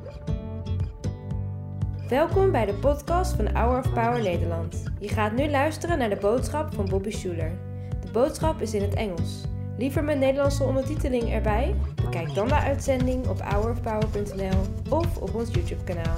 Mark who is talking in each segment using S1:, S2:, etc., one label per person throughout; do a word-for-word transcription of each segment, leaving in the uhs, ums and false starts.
S1: Welkom bij de podcast van Hour of Power Nederland. Je gaat nu luisteren naar de boodschap van Bobby Schuler. De boodschap is in het Engels. Liever met Nederlandse ondertiteling erbij? Bekijk dan de uitzending op hour of power punt n l of op ons YouTube-kanaal.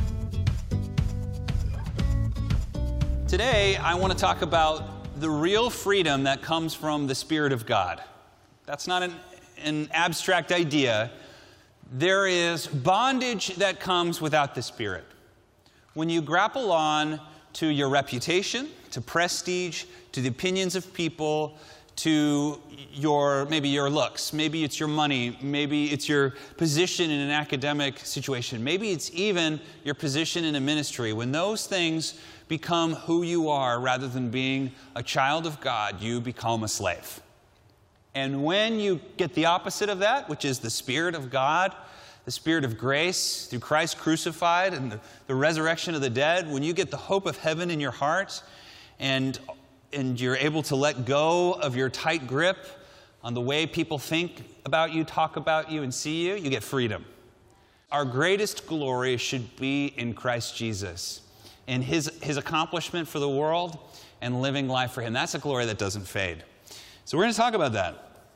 S2: Today, I want to talk about the real freedom that comes from the Spirit of God. That's not an, an abstract idea. There is bondage that comes without the Spirit. When you grapple on to your reputation, to prestige, to the opinions of people, to your, maybe your looks, maybe it's your money, maybe it's your position in an academic situation, maybe it's even your position in a ministry. When those things become who you are rather than being a child of God, you become a slave. And when you get the opposite of that, which is the Spirit of God, the Spirit of grace through Christ crucified and the, the resurrection of the dead, when you get the hope of heaven in your heart and, and you're able to let go of your tight grip on the way people think about you, talk about you, and see you, you get freedom. Our greatest glory should be in Christ Jesus, in His, His accomplishment for the world and living life for Him. That's a glory that doesn't fade. So we're going to talk about that.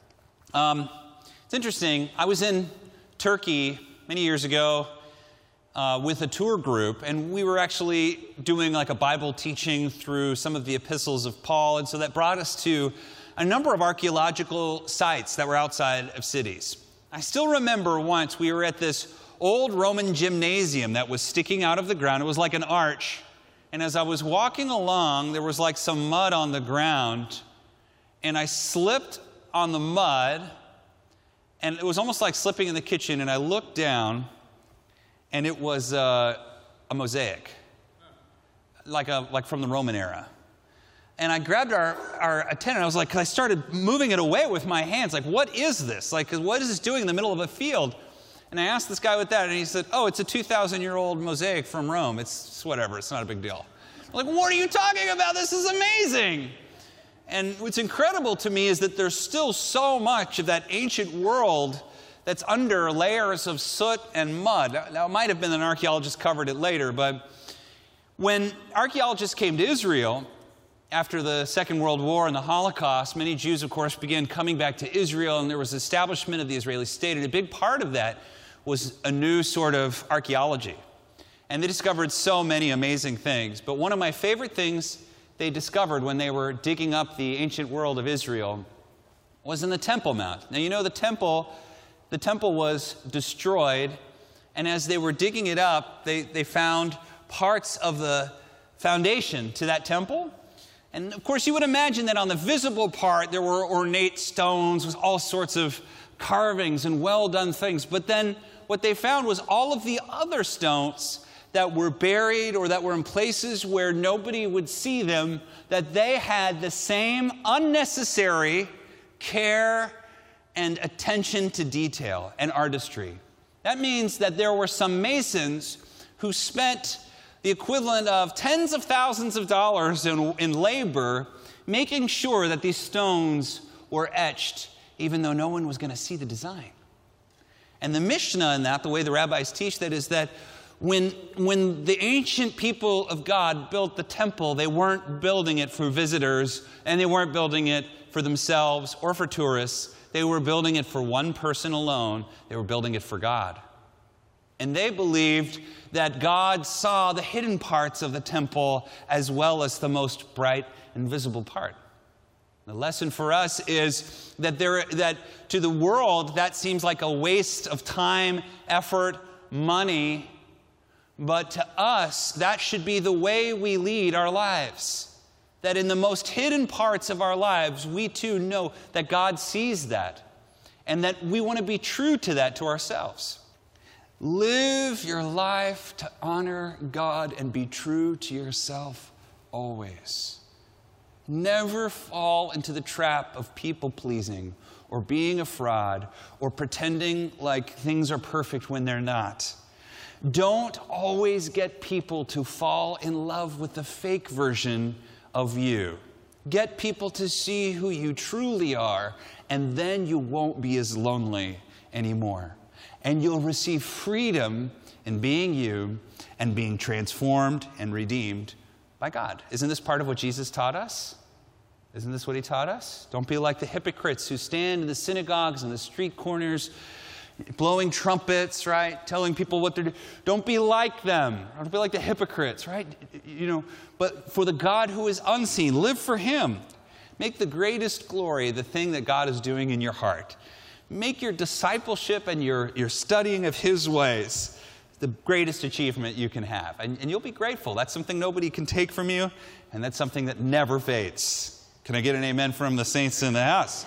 S2: Um, it's interesting. I was in Turkey many years ago uh, with a tour group, and we were actually doing like a Bible teaching through some of the epistles of Paul, and so that brought us to a number of archaeological sites that were outside of cities. I still remember once we were at this old Roman gymnasium that was sticking out of the ground. It was like an arch, and as I was walking along, there was like some mud on the ground, and I slipped on the mud. And it was almost like slipping in the kitchen, and I looked down, and it was uh, a mosaic, like a like from the Roman era. And I grabbed our, our attendant, I was like, 'cause I started moving it away with my hands, like, what is this? Like, what is this doing in the middle of a field? And I asked this guy with that, and he said, oh, it's a two thousand year old mosaic from Rome. It's, it's whatever, it's not a big deal. I'm like, what are you talking about? This is amazing. And what's incredible to me is that there's still so much of that ancient world that's under layers of soot and mud. Now, it might have been that an archaeologist covered it later, but when archaeologists came to Israel after the Second World War and the Holocaust, many Jews, of course, began coming back to Israel, and there was establishment of the Israeli state, and a big part of that was a new sort of archaeology. And they discovered so many amazing things, but one of my favorite things they discovered when they were digging up the ancient world of Israel was in the Temple Mount. Now, you know, the temple, the temple was destroyed, and as they were digging it up, they, they found parts of the foundation to that temple. And of course, you would imagine that on the visible part, there were ornate stones with all sorts of carvings and well-done things. But then what they found was all of the other stones that were buried or that were in places where nobody would see them, that they had the same unnecessary care and attention to detail and artistry. That means that there were some masons who spent the equivalent of tens of thousands of dollars in, in labor making sure that these stones were etched, even though no one was going to see the design. And the Mishnah in that, the way the rabbis teach that, is that When, when the ancient people of God built the temple, they weren't building it for visitors, and they weren't building it for themselves or for tourists. They were building it for one person alone. They were building it for God. And they believed that God saw the hidden parts of the temple as well as the most bright and visible part. The lesson for us is that, there, that to the world, that seems like a waste of time, effort, money. But to us, that should be the way we lead our lives. That in the most hidden parts of our lives, we too know that God sees that. And that we want to be true to that to ourselves. Live your life to honor God and be true to yourself always. Never fall into the trap of people-pleasing or being a fraud or pretending like things are perfect when they're not. Don't always get people to fall in love with the fake version of you. Get people to see who you truly are, and then you won't be as lonely anymore. And you'll receive freedom in being you and being transformed and redeemed by God. Isn't this part of what Jesus taught us? Isn't this what he taught us? Don't be like the hypocrites who stand in the synagogues and the street corners blowing trumpets, right? Telling people what they're doing. Don't be like them. Don't be like the hypocrites, right? You know, but for the God who is unseen, live for him. Make the greatest glory the thing that God is doing in your heart. Make your discipleship and your, your studying of his ways the greatest achievement you can have. And, and you'll be grateful. That's something nobody can take from you, and that's something that never fades. Can I get an amen from the saints in the house?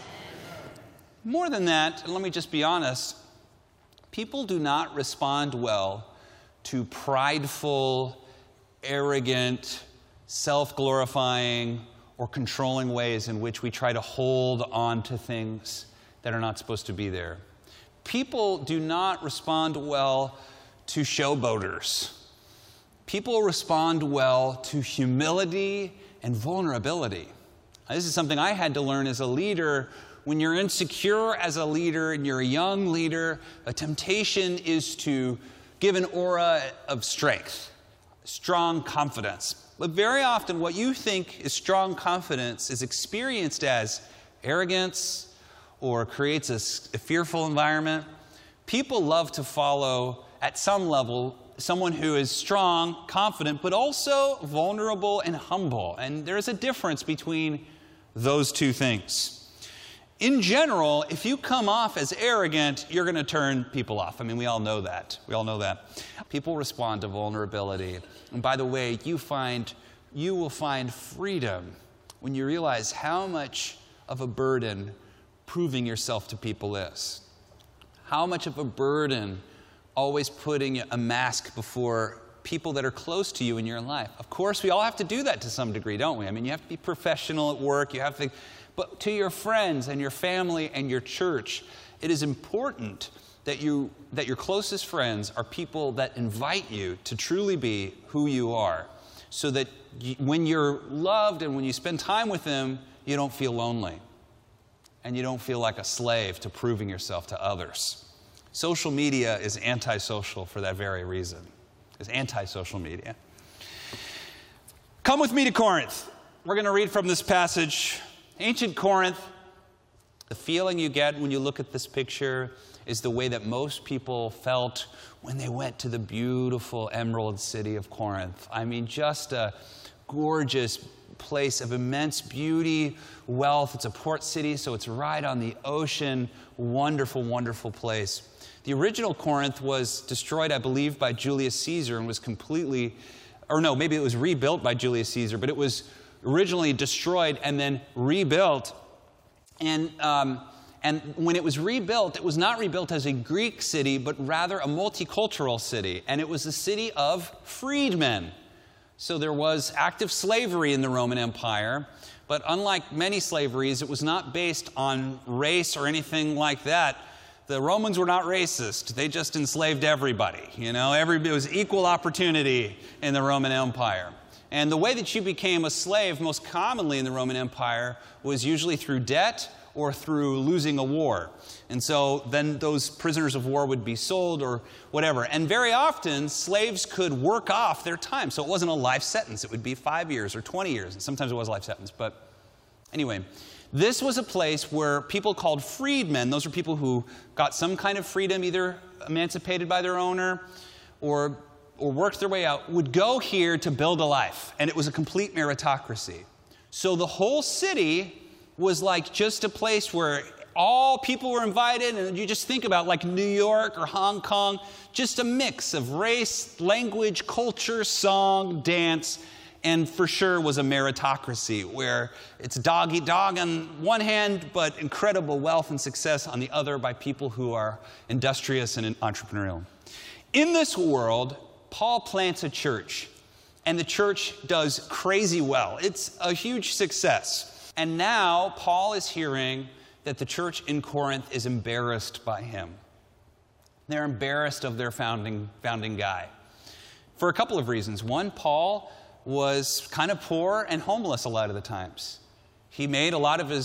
S2: More than that, and let me just be honest, people do not respond well to prideful, arrogant, self-glorifying, or controlling ways in which we try to hold on to things that are not supposed to be there. People do not respond well to showboaters. People respond well to humility and vulnerability. Now, this is something I had to learn as a leader. When you're insecure as a leader and you're a young leader, a temptation is to give an aura of strength, strong confidence. But very often what you think is strong confidence is experienced as arrogance or creates a, a fearful environment. People love to follow, at some level, someone who is strong, confident, but also vulnerable and humble. And there is a difference between those two things. In general, if you come off as arrogant, you're going to turn people off. I mean, we all know that. We all know that. People respond to vulnerability. And by the way, you find, you will find freedom when you realize how much of a burden proving yourself to people is. How much of a burden always putting a mask before people that are close to you in your life. Of course, we all have to do that to some degree, don't we? I mean, you have to be professional at work. You have to, but to your friends and your family and your church, it is important that you that your closest friends are people that invite you to truly be who you are, so that you, when you're loved and when you spend time with them, you don't feel lonely, and you don't feel like a slave to proving yourself to others. Social media is antisocial for that very reason. It's anti-social media. Come with me to Corinth. We're going to read from this passage. Ancient Corinth, the feeling you get when you look at this picture is the way that most people felt when they went to the beautiful emerald city of Corinth. I mean, just a gorgeous place of immense beauty, wealth. It's a port city, so it's right on the ocean. Wonderful, wonderful place. The original Corinth was destroyed, I believe, by Julius Caesar and was completely, or no, maybe it was rebuilt by Julius Caesar, but it was originally destroyed and then rebuilt. And, um, and when it was rebuilt, it was not rebuilt as a Greek city, but rather a multicultural city. And it was a city of freedmen. So there was active slavery in the Roman Empire, but unlike many slaveries, it was not based on race or anything like that. The Romans were not racist. They just enslaved everybody. You know, every, it was equal opportunity in the Roman Empire. And the way that you became a slave most commonly in the Roman Empire was usually through debt or through losing a war. And so then those prisoners of war would be sold or whatever. And very often, slaves could work off their time. So it wasn't a life sentence. It would be five years or twenty years. And sometimes it was a life sentence. But anyway, this was a place where people called freedmen, those are people who got some kind of freedom, either emancipated by their owner or, or worked their way out, would go here to build a life. And it was a complete meritocracy. So the whole city was like just a place where all people were invited, and you just think about like New York or Hong Kong, just a mix of race, language, culture, song, dance, and for sure was a meritocracy where it's dog eat dog on one hand, but incredible wealth and success on the other by people who are industrious and entrepreneurial. In this world, Paul plants a church, and the church does crazy well. It's a huge success. And now Paul is hearing that the church in Corinth is embarrassed by him. They're embarrassed of their founding, founding guy for a couple of reasons. One, Paul was kind of poor and homeless a lot of the times. He made a lot of his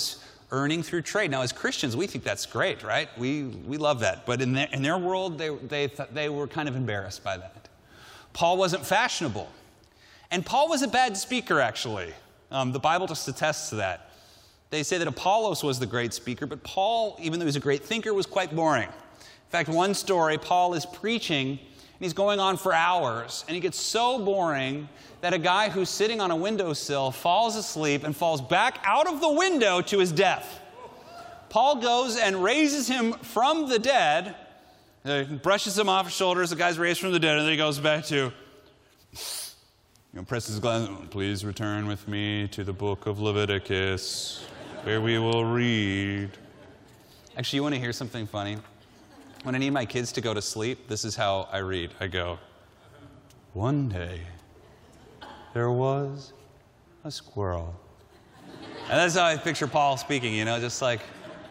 S2: earning through trade. Now, as Christians, we think that's great, right? We we love that. But in their, in their world, they, they, th- they were kind of embarrassed by that. Paul wasn't fashionable. And Paul was a bad speaker, actually. Um, the Bible just attests to that. They say that Apollos was the great speaker, but Paul, even though he was a great thinker, was quite boring. In fact, one story, Paul is preaching, and he's going on for hours, and he gets so boring that a guy who's sitting on a windowsill falls asleep and falls back out of the window to his death. Paul goes and raises him from the dead, uh, brushes him off his shoulders, the guy's raised from the dead, and then he goes back to, you know, presses his glass, please return with me to the book of Leviticus, where we will read. Actually, you want to hear something funny? When I need my kids to go to sleep, this is how I read. I go, one day, there was a squirrel. And that's how I picture Paul speaking, you know, just like...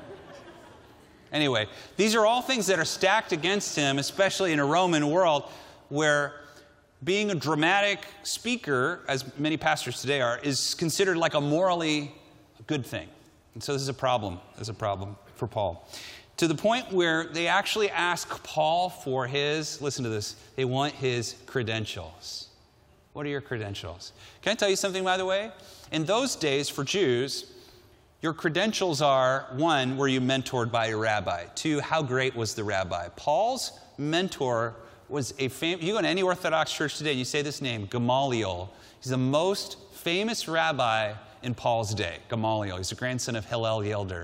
S2: Anyway, these are all things that are stacked against him, especially in a Roman world where being a dramatic speaker, as many pastors today are, is considered like a morally good thing. And so this is a problem. This is a problem for Paul. To the point where they actually ask Paul for his, listen to this, they want his credentials. What are your credentials? Can I tell you something, by the way? In those days, for Jews, your credentials are, one, were you mentored by a rabbi? Two, how great was the rabbi? Paul's mentor was a famous, you go to any Orthodox church today and you say this name, Gamaliel. He's the most famous rabbi in Paul's day, Gamaliel. He's the grandson of Hillel Yelder.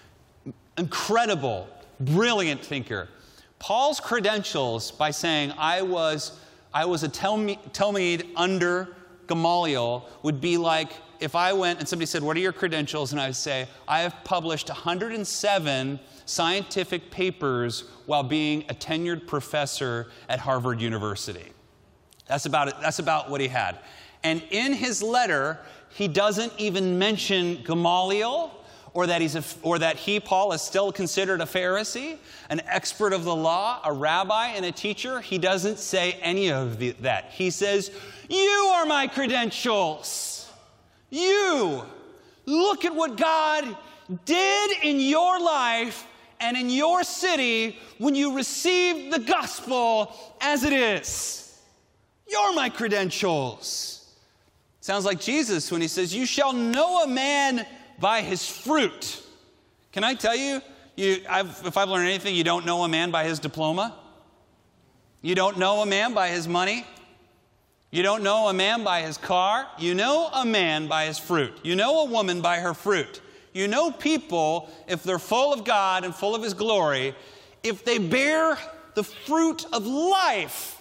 S2: Incredible, brilliant thinker. Paul's credentials by saying, I was, I was a Talmud under Gamaliel would be like if I went and somebody said, what are your credentials? And I would say, I have published one hundred seven scientific papers while being a tenured professor at Harvard University. That's about it. That's about what he had. And in his letter, he doesn't even mention Gamaliel, or that he's a, or that he, Paul, is still considered a Pharisee, an expert of the law, a rabbi, and a teacher. He doesn't say any of the, that. He says, you are my credentials. You. Look at what God did in your life and in your city when you received the gospel as it is. You're my credentials. Sounds like Jesus when he says, you shall know a man by his fruit. Can I tell you, you I've, if I've learned anything, you don't know a man by his diploma. You don't know a man by his money. You don't know a man by his car. You know a man by his fruit. You know a woman by her fruit. You know people, if they're full of God and full of his glory, if they bear the fruit of life.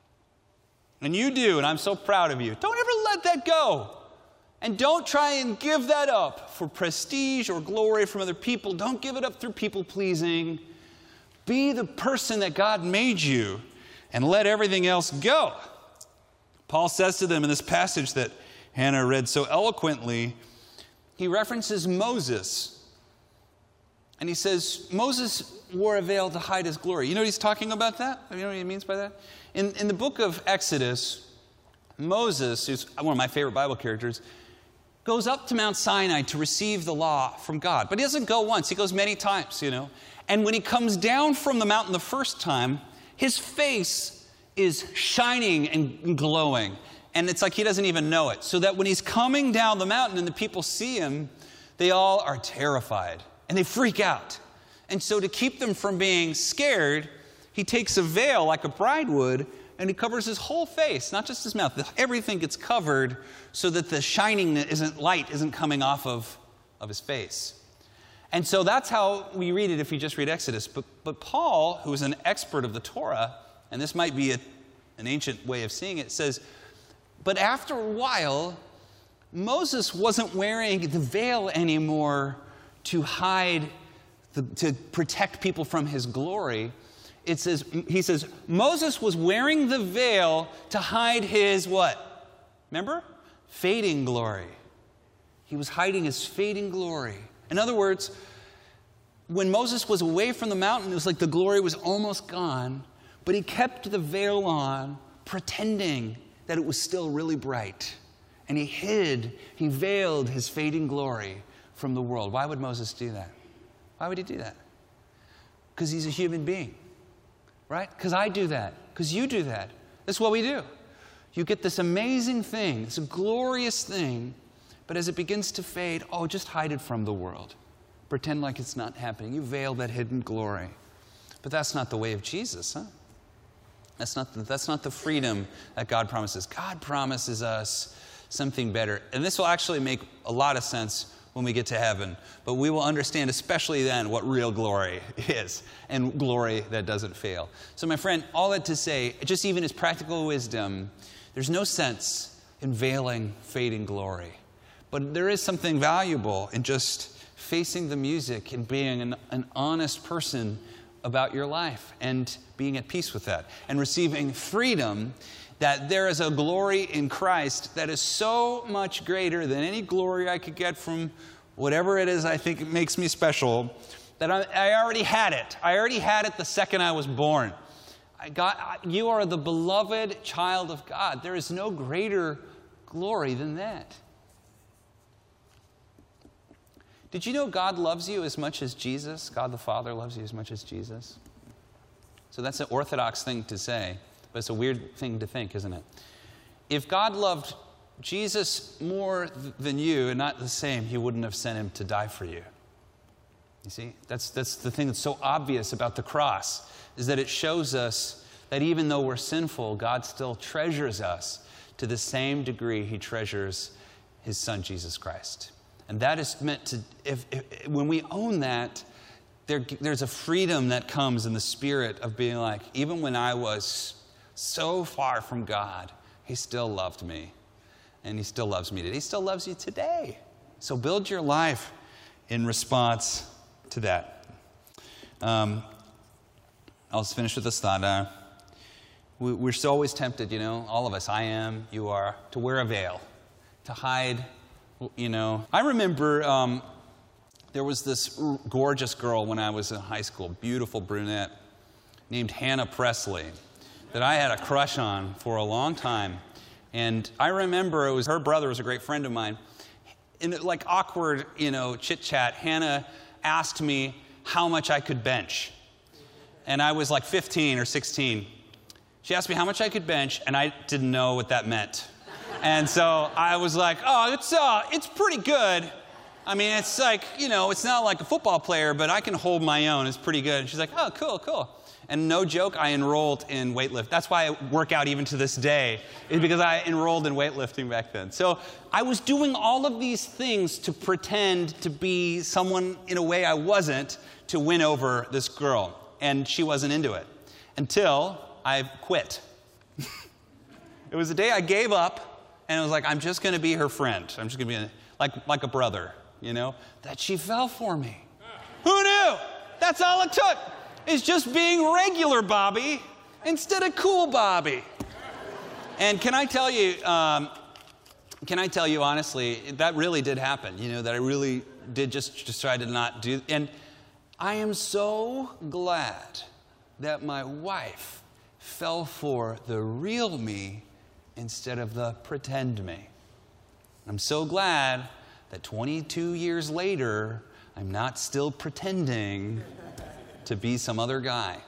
S2: And you do, and I'm so proud of you. Don't ever let that go. And don't try and give that up for prestige or glory from other people. Don't give it up through people pleasing. Be the person that God made you and let everything else go. Paul says to them in this passage that Hannah read so eloquently, he references Moses. And he says, Moses wore a veil to hide his glory. You know what he's talking about that? You know what he means by that? In, in the book of Exodus, Moses, who's one of my favorite Bible characters, goes up to Mount Sinai to receive the law from God. But he doesn't go once. He goes many times, you know. And when he comes down from the mountain the first time, his face is shining and glowing. And it's like he doesn't even know it. So that when he's coming down the mountain and the people see him, they all are terrified. And they freak out. And so to keep them from being scared, he takes a veil like a bride would, and he covers his whole face, not just his mouth. Everything gets covered so that the shining isn't light isn't coming off of, of his face. And so that's how we read it if you just read Exodus. But, but Paul, who is an expert of the Torah, and this might be a, an ancient way of seeing it, says, but after a while, Moses wasn't wearing the veil anymore to hide, the, to protect people from his glory. It says, he says, Moses was wearing the veil to hide his what? Remember? Fading glory. He was hiding his fading glory. In other words, when Moses was away from the mountain, it was like the glory was almost gone, but he kept the veil on, pretending that it was still really bright. And he hid, he veiled his fading glory from the world. Why would Moses do that? Why would he do that? Because he's a human being, right? Because I do that. Because you do that. That's what we do. You get this amazing thing, it's a glorious thing, but as it begins to fade, oh, just hide it from the world. Pretend like it's not happening. You veil that hidden glory. But that's not the way of Jesus, huh? That's not the, that's not the freedom that God promises. God promises us something better. And this will actually make a lot of sense when we get to heaven. But we will understand, especially then, what real glory is, and glory that doesn't fail. So my friend, all that to say, just even as practical wisdom, there's no sense in veiling fading glory. But there is something valuable in just facing the music and being an, an honest person about your life and being at peace with that and receiving freedom that there is a glory in Christ that is so much greater than any glory I could get from whatever it is I think makes me special, that I, I already had it. I already had it the second I was born. I got, you are the beloved child of God. There is no greater glory than that. Did you know God loves you as much as Jesus? God the Father loves you as much as Jesus? So that's an orthodox thing to say, but it's a weird thing to think, isn't it? If God loved Jesus more th- than you and not the same, he wouldn't have sent him to die for you. You see? That's, that's the thing that's so obvious about the cross, is that it shows us that even though we're sinful, God still treasures us to the same degree he treasures his Son, Jesus Christ. And that is meant to, if, if when we own that, there, there's a freedom that comes in the spirit of being like, even when I was so far from God, he still loved me. And he still loves me today. He still loves you today. So build your life in response to that. Um, I'll just finish with this thought. Uh, we, we're so always tempted, you know, all of us, I am, you are, to wear a veil, to hide. You know, I remember um, there was this gorgeous girl when I was in high school, beautiful brunette, named Hannah Presley, that I had a crush on for a long time. And I remember it was her brother was a great friend of mine. In like awkward, you know, chit-chat, Hannah asked me how much I could bench. And I was like fifteen or sixteen. She asked me how much I could bench, and I didn't know what that meant. And so I was like, oh, it's uh, it's pretty good. I mean, it's like, you know, it's not like a football player, but I can hold my own. It's pretty good. And she's like, oh, cool, cool. And no joke, I enrolled in weightlifting. That's why I work out even to this day, is because I enrolled in weightlifting back then. So I was doing all of these things to pretend to be someone in a way I wasn't, to win over this girl. And she wasn't into it until I quit. It was the day I gave up. And it was like, I'm just going to be her friend. I'm just going to be a, like, like a brother, you know, that she fell for me. Who knew? That's all it took, is just being regular Bobby instead of cool Bobby. And can I tell you, um, can I tell you honestly, that really did happen, you know, that I really did just, just try to not do. And I am so glad that my wife fell for the real me instead of the pretend me. I'm so glad that twenty-two years later, I'm not still pretending to be some other guy.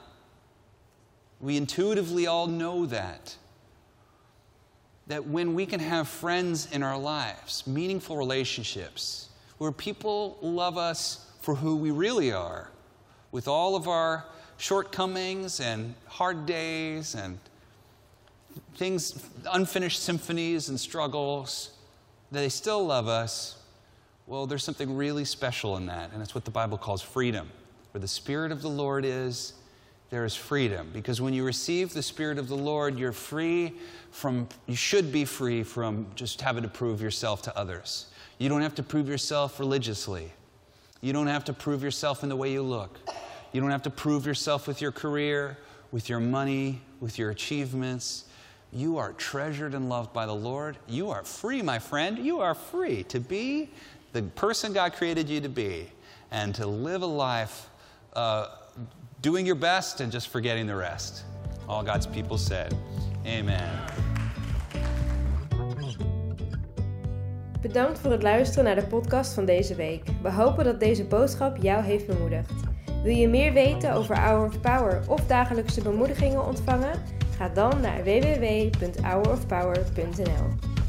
S2: We intuitively all know that. That when we can have friends in our lives, meaningful relationships, where people love us for who we really are, with all of our shortcomings and hard days and things, unfinished symphonies and struggles, they still love us. Well, there's something really special in that, and it's what the Bible calls freedom. Where the Spirit of the Lord is, there is freedom. Because when you receive the Spirit of the Lord, you're free from, you should be free from just having to prove yourself to others. You don't have to prove yourself religiously. You don't have to prove yourself in the way you look. You don't have to prove yourself with your career, with your money, with your achievements. You are treasured and loved by the Lord. You are free, my friend. You are free to be the person God created you to be and to live a life uh, doing your best and just forgetting the rest. All God's people said, amen.
S1: Bedankt voor het luisteren naar de podcast van deze week. We hopen dat deze boodschap jou heeft bemoedigd. Wil je meer weten over Hour of Power of dagelijkse bemoedigingen ontvangen? Ga dan naar w w w punt hour of power punt n l.